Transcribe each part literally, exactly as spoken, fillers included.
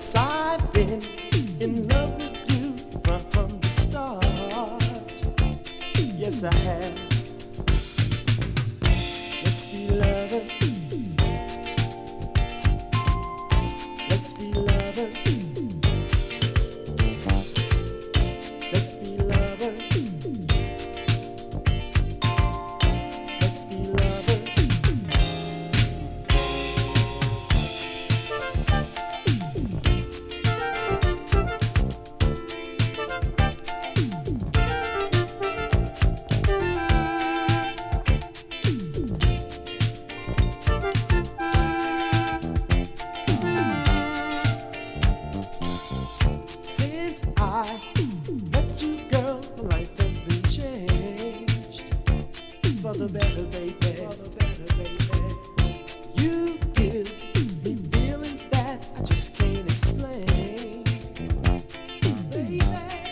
'Cause I've been in love with you from, from the start. Yes, I have. Let's be lovers. Let's be lovers. Let's be lovers. Let's be lovers. Since I met you, girl, life has been changed for the better, baby. For the better, baby. You give me feelings that I just can't explain, baby.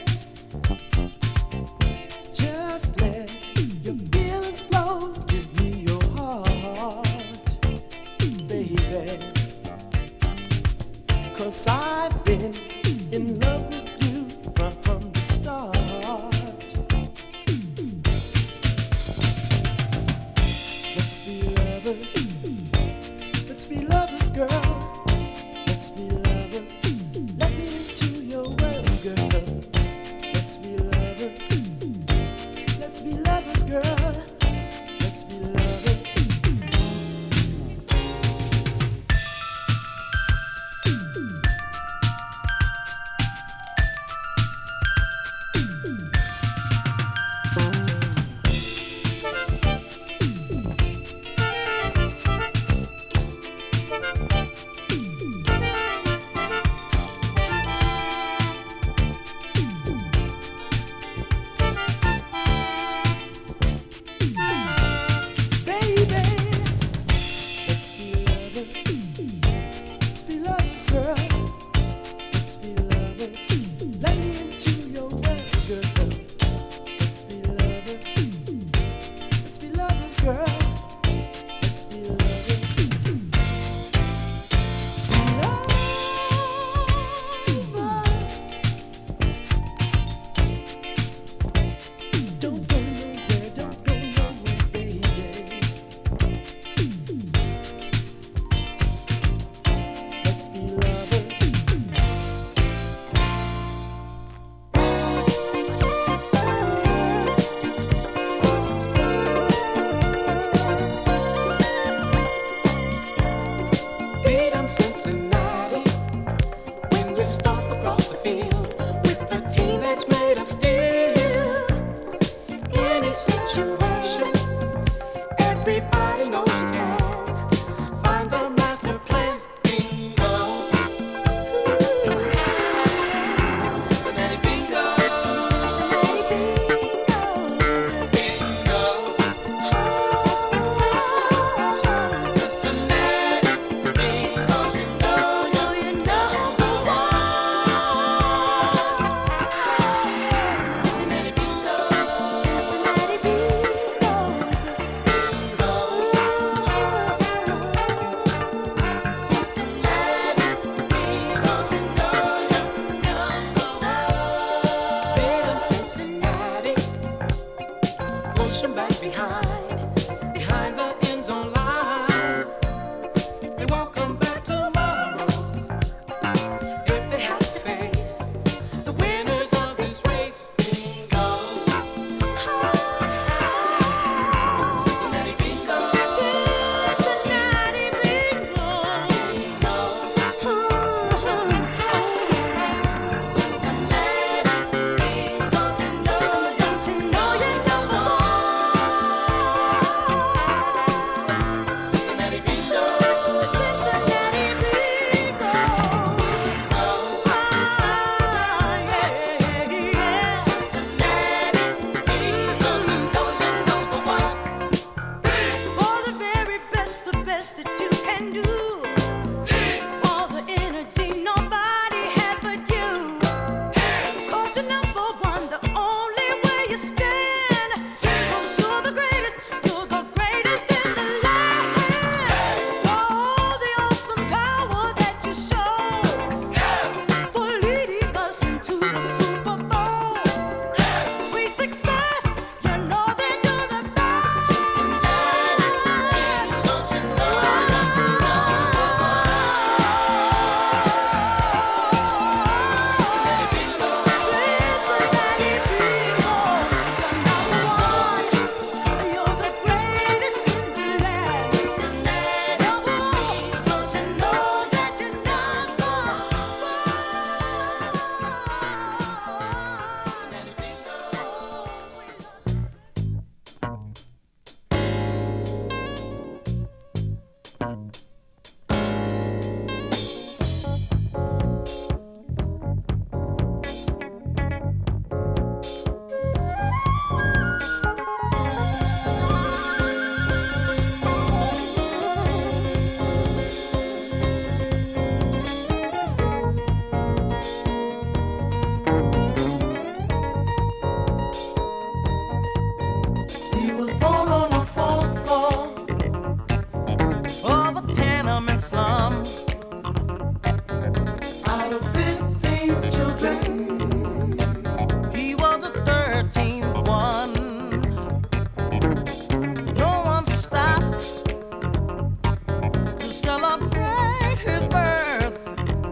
Just let your feelings flow. Give me your heart, baby. 'Cause I've been in love with you from, from the start. Let's be lovers. Let's be lovers, girl. Let's be lovers. Let me into your world, girl. Let's be lovers. Let's be lovers, girl. Let's be lovers. tenement slum. Out of fifteen children, he was the thirteenth one. No one stopped to celebrate his birth.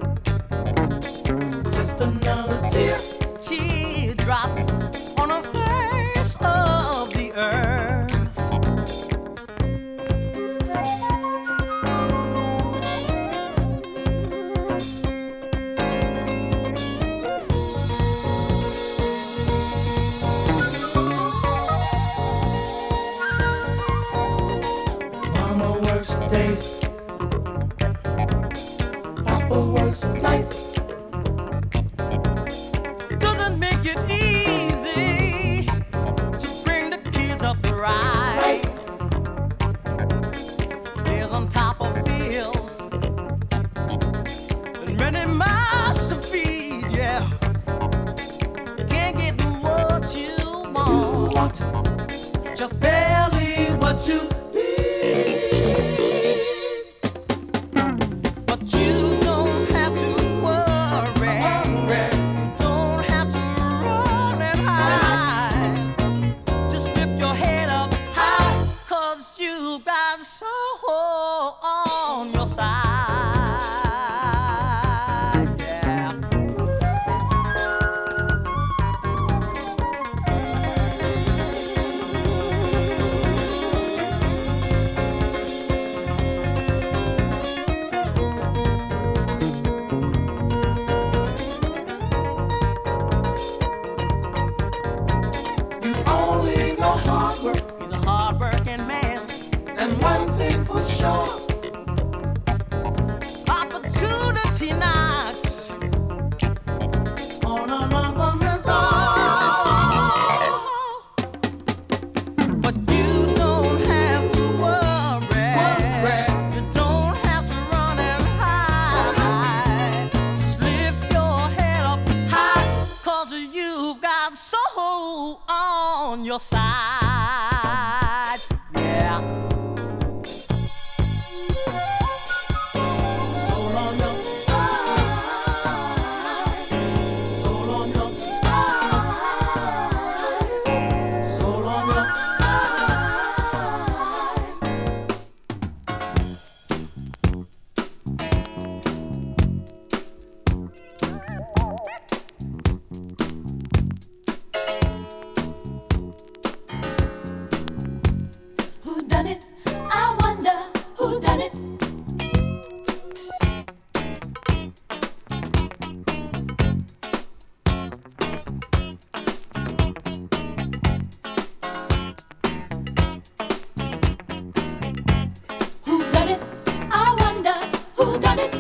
just another tear. Teardrop on the face of the earth. Mama works days, Papa works nights. Doesn't make it easy to bring the kids up right. Bills on top of bills, and many mouths to feed. Yeah, can't get what you You want, want just barely what you need. But you don't have to worry. You don't have to run and hide. Just lift your head up high, 'cause you got soul on your side. Yeah. You only know hard work, He's a hard-working man. and one thing for sure, Opportunity knocks on another man's door. but you don't have to worry. Worry. You don't have to run and hide. Just lift your head up high, 'cause you've got soul on your side. Yeah. Soul on your side, soul on your side, soul on your side. Who done it? I wonder who done it. Who done it? I wonder who done it.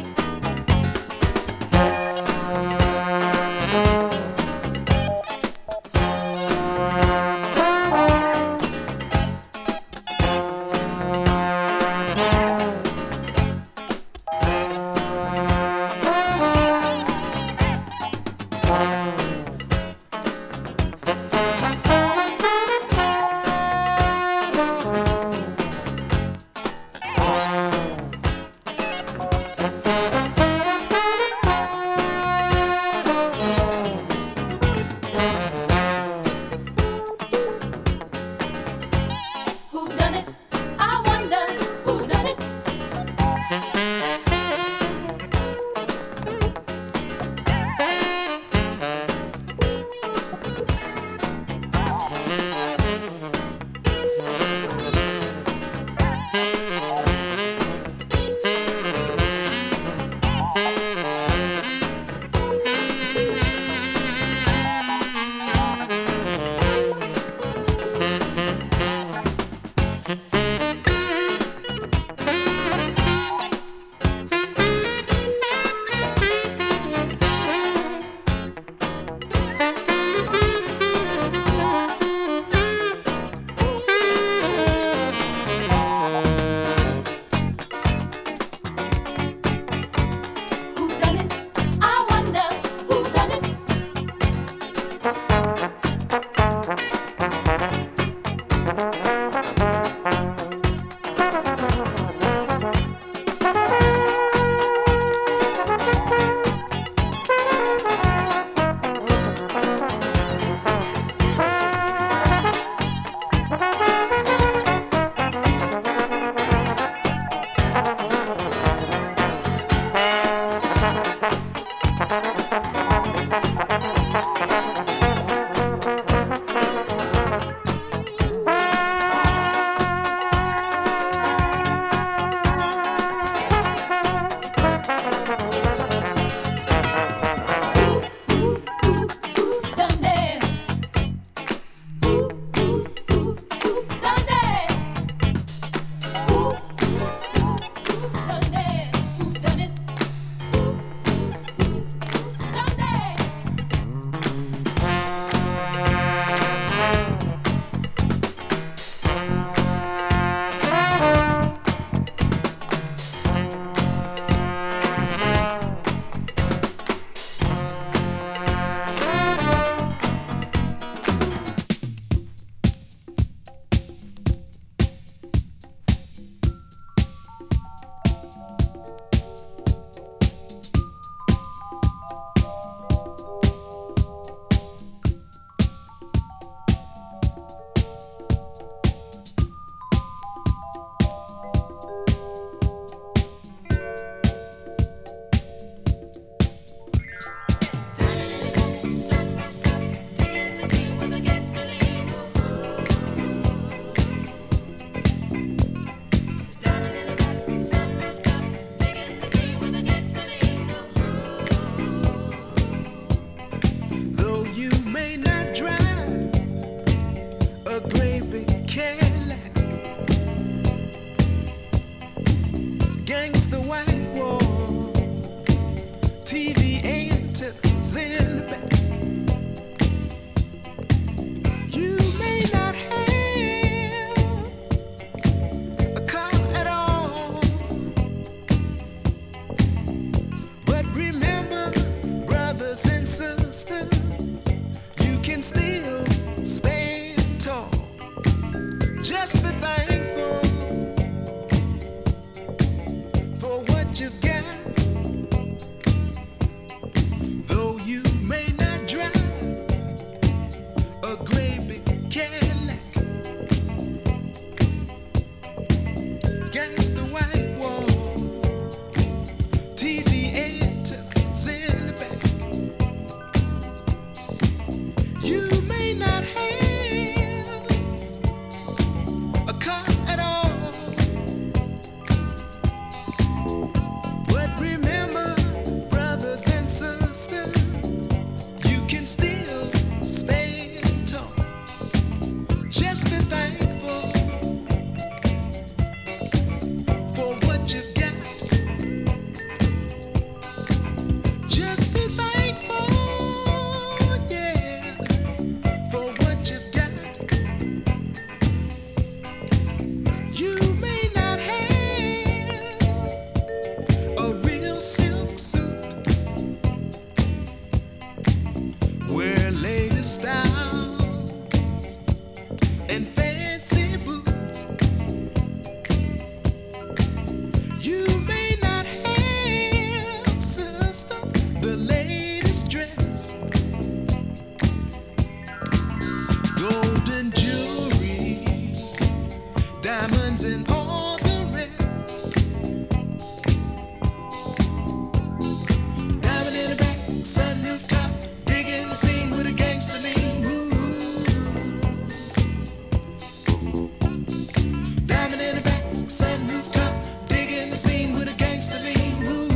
Digging the scene with a gangster lean. Ooh.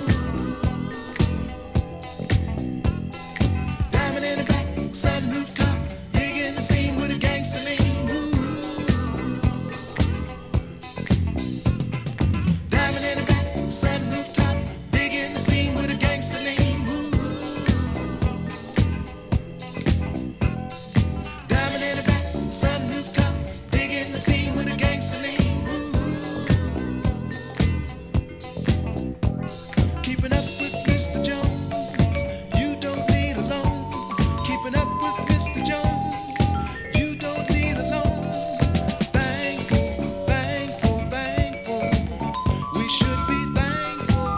Diamond in the back, sunroof top. Digging the scene with a gangster lean. Ooh. Diamond in the back, sunroof top. Digging the scene with a gangster lean. Ooh. Diamond in the back, sunroof top. Digging the scene with a gangster lean. Keeping up with Mister Jones, you don't need a loan. Keeping up with Mister Jones, you don't need a loan. Thankful, thankful, thankful. We should be thankful.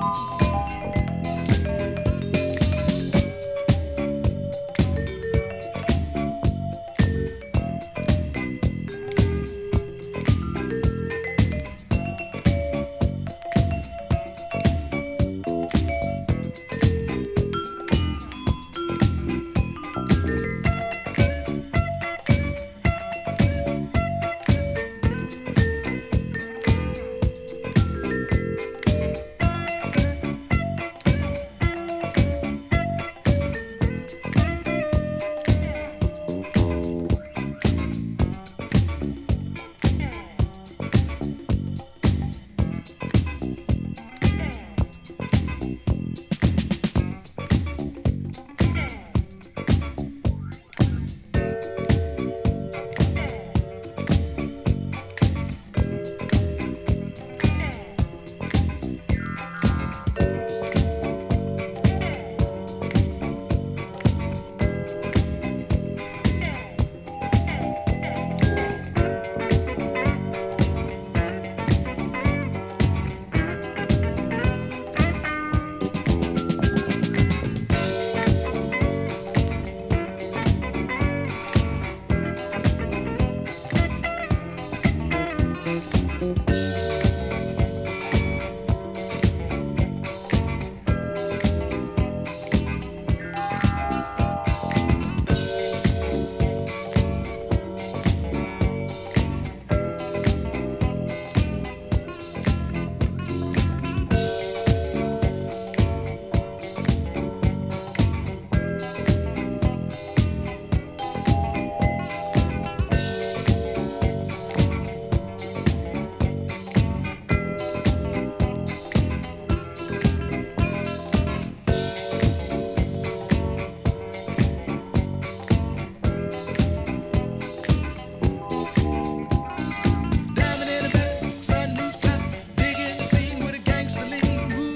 Diamond in the back, sunroof top. Digging the scene with a gangster lean. Ooh.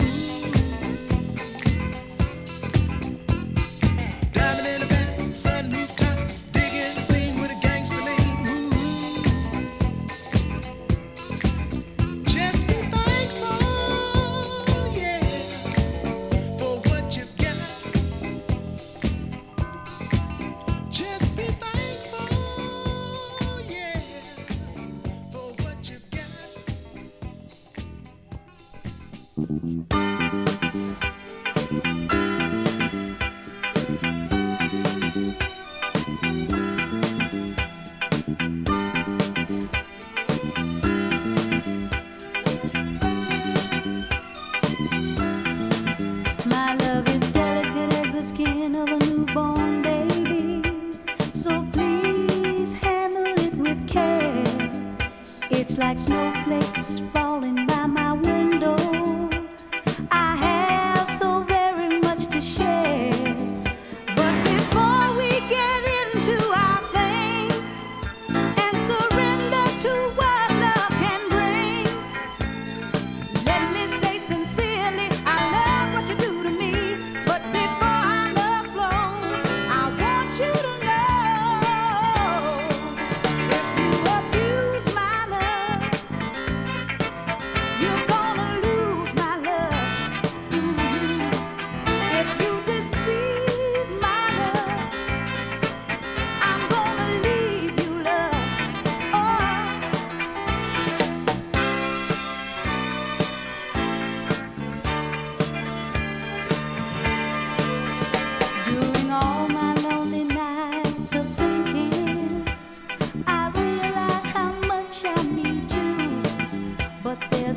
Diamond in the back, sunroof top. Digging the scene with a gangster lean. Ooh. Just be thankful, yeah, for what you've got. Just be thankful, yeah, for what you've got. My love is delicate as the skin of a newborn baby. So please handle it with care. It's like snowflakes falling by my window. I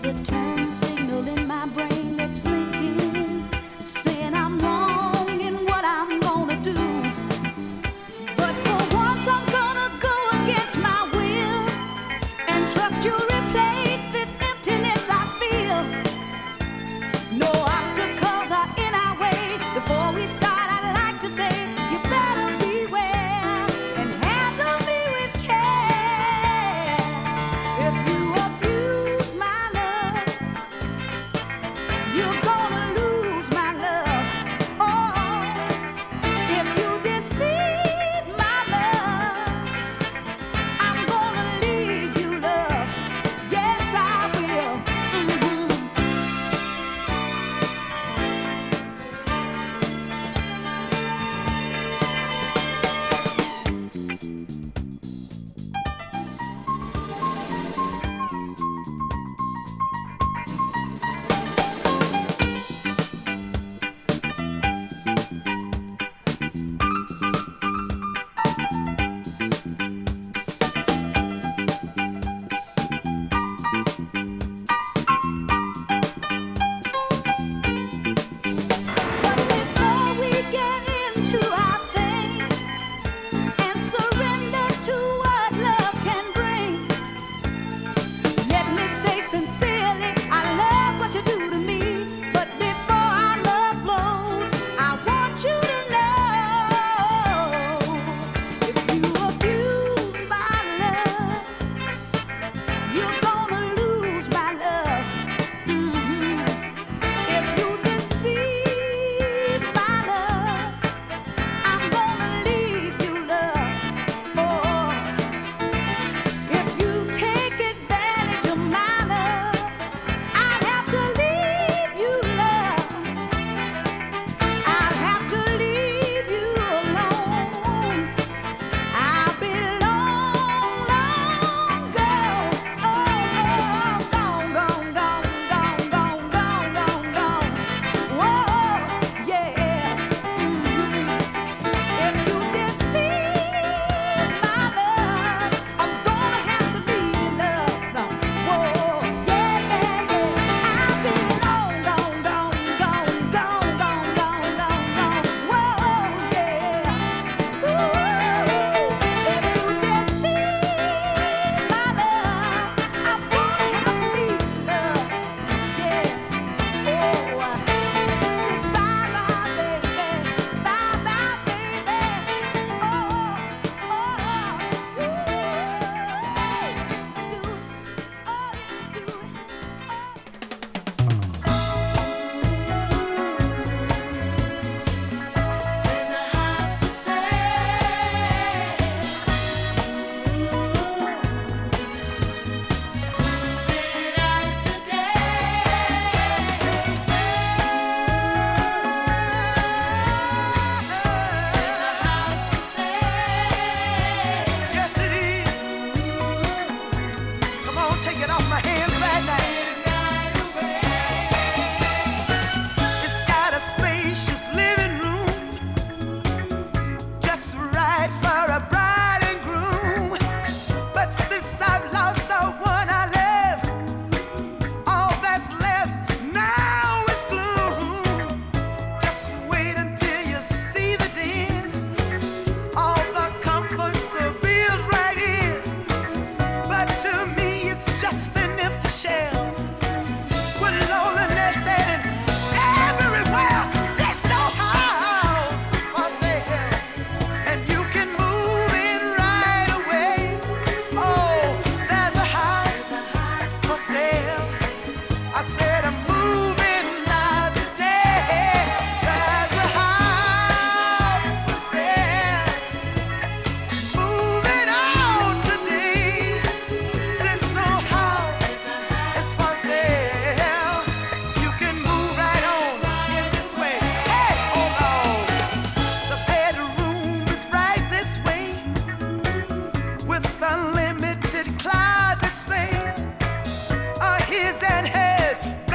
Unlimited closet space are his and hers.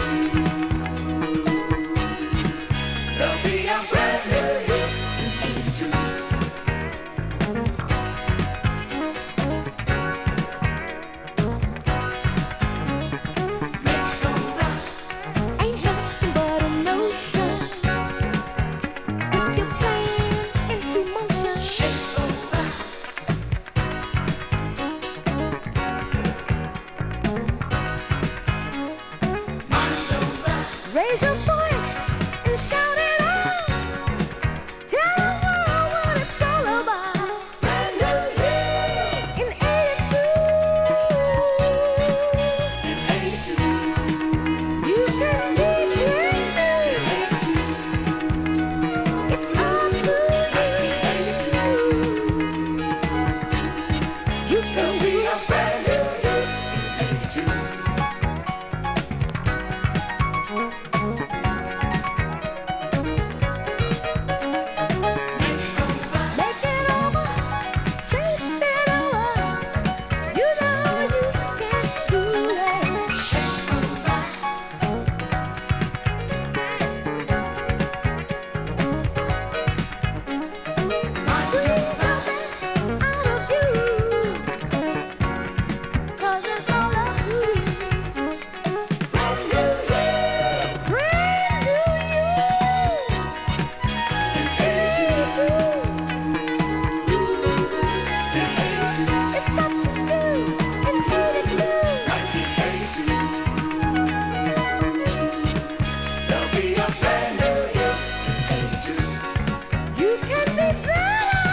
There'll be a brand new you in eighty-two. Ain't nothing but a notion. Put your plan into motion. Shake over. Mind over. Raise your voice and shout it out. Tell the world what it's all about. Brand new you In eighty-two, in eighty-two. you can be brand new. It's up to you. You can There'll be be a brand new you in eighty-two. make it over, shape it over. You know you can do it. Shake over. Mind Bring over. the best out of you, 'cause it's all up to you. Brand new you Brand new you, in eighty-two. eighty-two. In eighty-two. It's up to you in eighty-two. nineteen eighty-two. There'll be a brand new you in eighty-two. You can be better.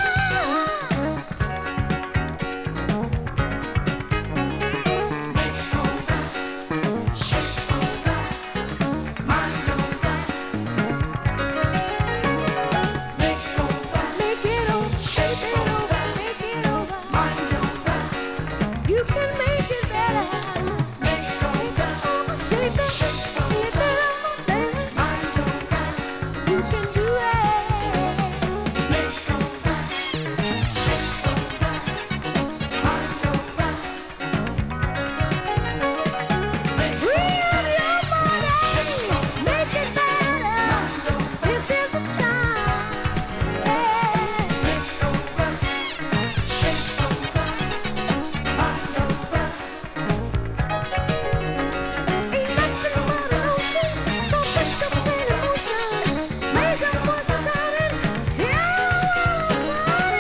Make over, shake over, mind over. Make over, Make it over, shape it over, make it over. mind over. You can make it better. Make over, Over, shape it, shape it over, baby. mind over. You can do it. Make over, shake over, mind over. Free up your body, make it better. This is the time. Yeah. Make over, shake over, mind over. Ain't nothing but an ocean, so put your plan in motion. Raise your voice and shout it. Tell the world about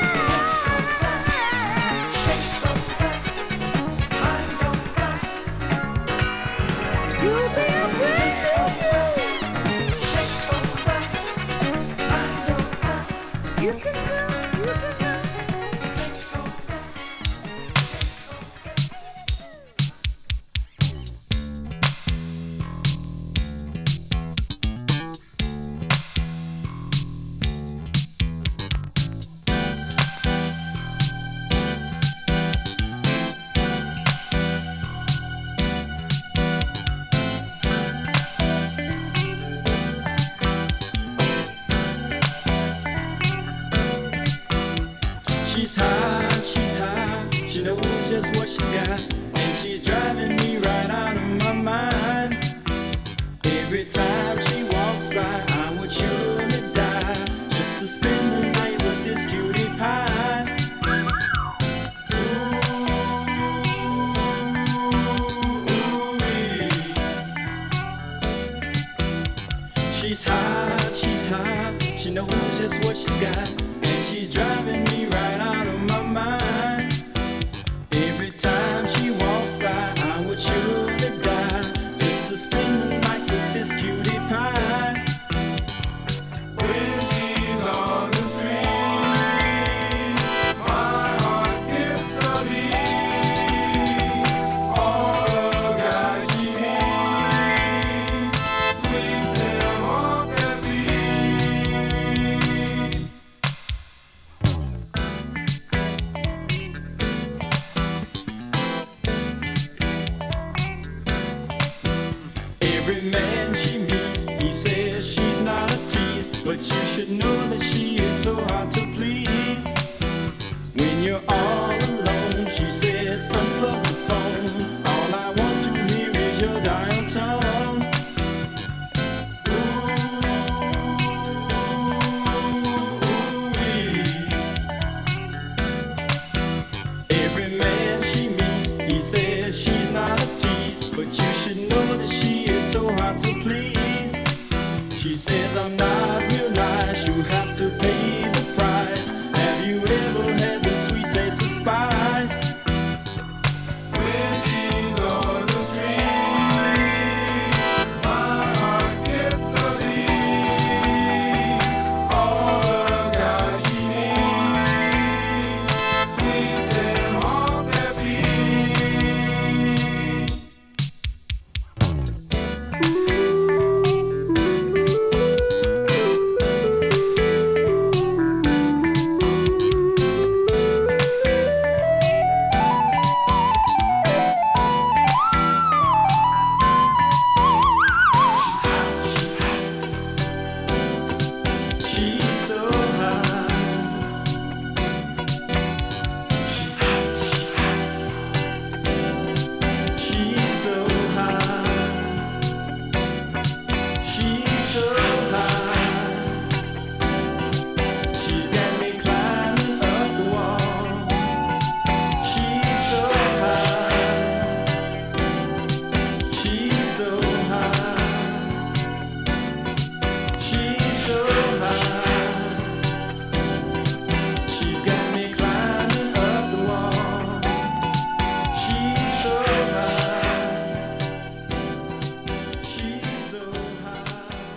it. Shake over, mind over. You'll be a brand new you. Shake over, mind over. You can do, you can do. She's hot, she's hot, she knows just what she's got, and she's driving me right out of my mind. Every time she walks by, I would surely die just to spend the night with this cutie pie. Ooh-wee. She's hot, she's hot, she knows just what she's got, and she's driving me right out of my mind. Every time she walks by, I would surely die just to spend the night with this cutie pie. When she's on the street, my heart skips a beat. All the guys she meets sweeps them off their feet. Every man she meets, he says she's not a tease, but you should know that she is so hard to please. When you're all alone, she says unplug the phone. All I want to hear is your dial tone. please. She says I'm not real nice, you have to pay the price. Have you ever had the sweet taste of spice? When she's on the street, my heart skips a beat. All the guys she meets sweeps them off their feet. She's so high. She's hot, she's hot. She's so high. She's so high. She's got me climbing up the wall. She's so high. She's so high. She's so high. She's got me climbing up the wall. She's so high. She's so high.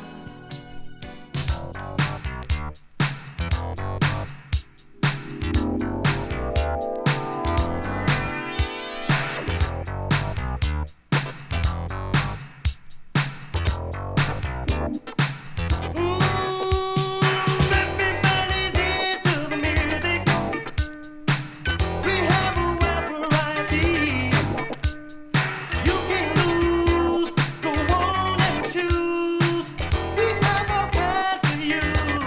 Everybody's into the music. We have a wide variety. You can lose, go on and choose. We have all kinds for you.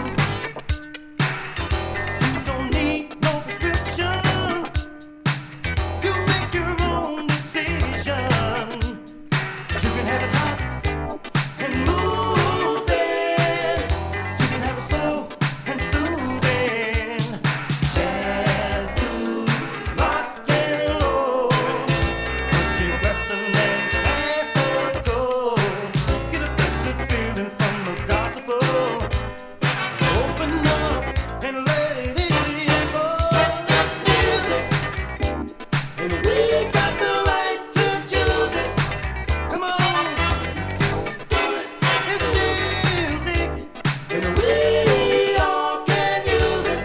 You don't need no prescription. You make your own decision. You can have it hot and moving. You can have it slow and soothing. Jazz, blues, rock and roll. Country, western, and classical. Get a good, good feeling from the gospel. Open up and let it into your soul. It's music, and we got the right to choose it. Come on. It's music, and we all can use it.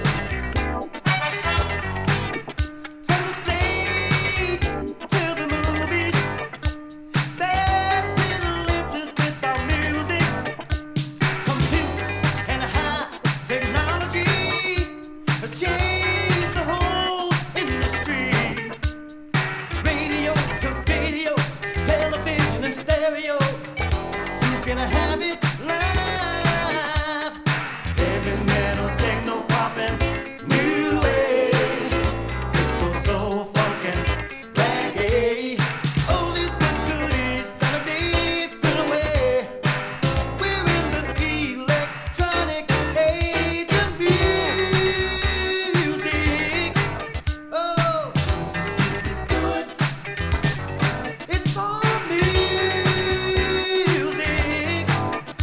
From the stage to the movies, there's little interest with our music. Computers and high technology has changed the whole industry. Radio to video, television and stereo. You can have it live. Heavy metal, techno, pop and new wave. Disco, soul, funk and reggae. All these good goodies that are different away. We're in the electronic age of music. Oh, good. It's all music.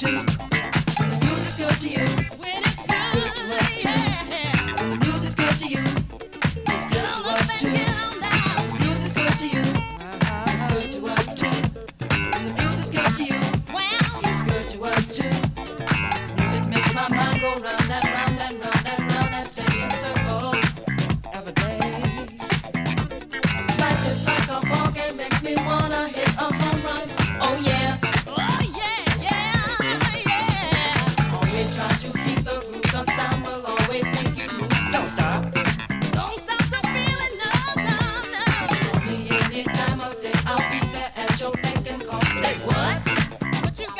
too. When the music's good to you, it's good to us too. When the music's good to you, it's good to us too. When the music's good to you, it's good to us too. When the music's good to you, it's good to us too. Music makes my mind go round and round and round and round and stay in circles every day. Life is like a ball game, makes me wanna hit a home run. Oh yeah. Always try to keep the groove, the sound will always make you move. Don't stop. Call me any time of day, I'll be there at your beck and call. Say what? Just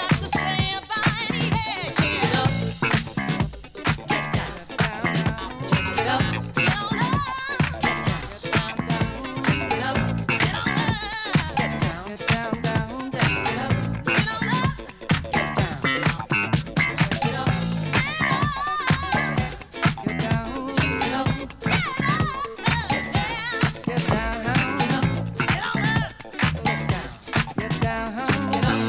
get up, get down. Just get up, get down. Just get up, get down. Just get up, get down. Just get up, get down. Just get up, get down. Just get up, get down. Just get up.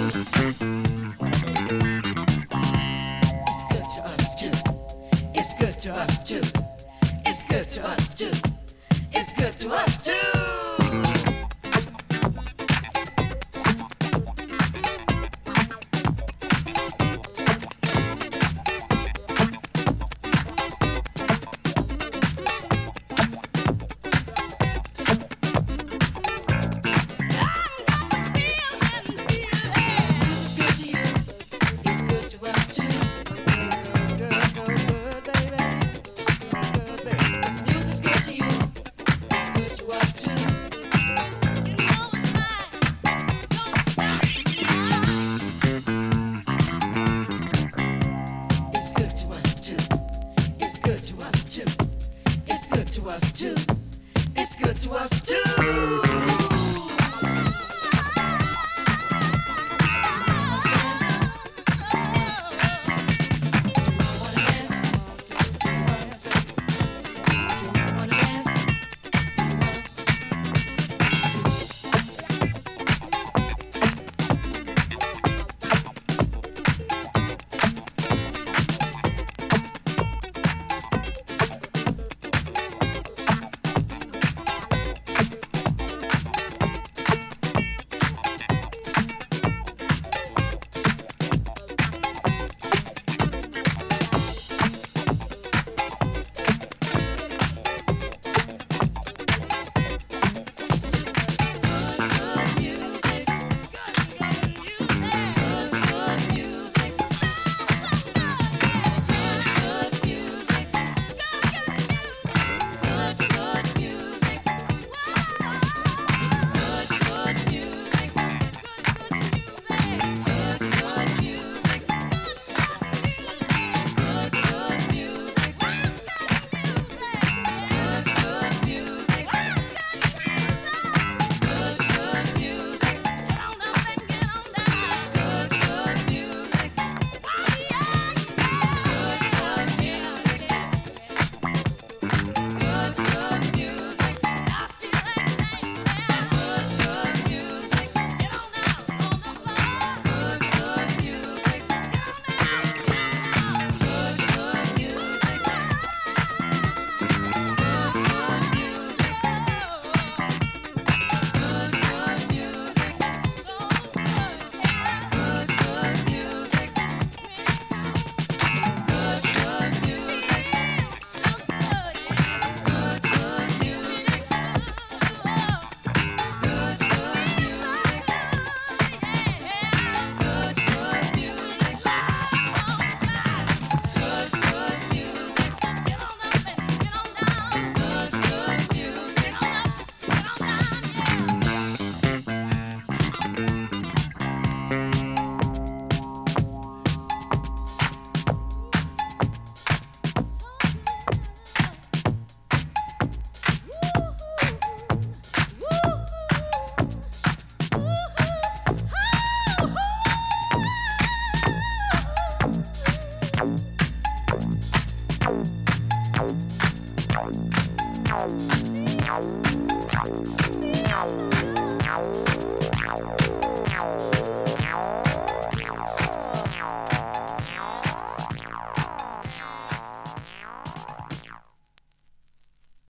It's good to us too. It's good to us too. It's good to us too. It's good to us too. It's good to us too. So good, so good, baby. So good, baby. Music's good to you. It's good to us too. It's good to us too. It's good to us too. It's good to us too. It's good to us too.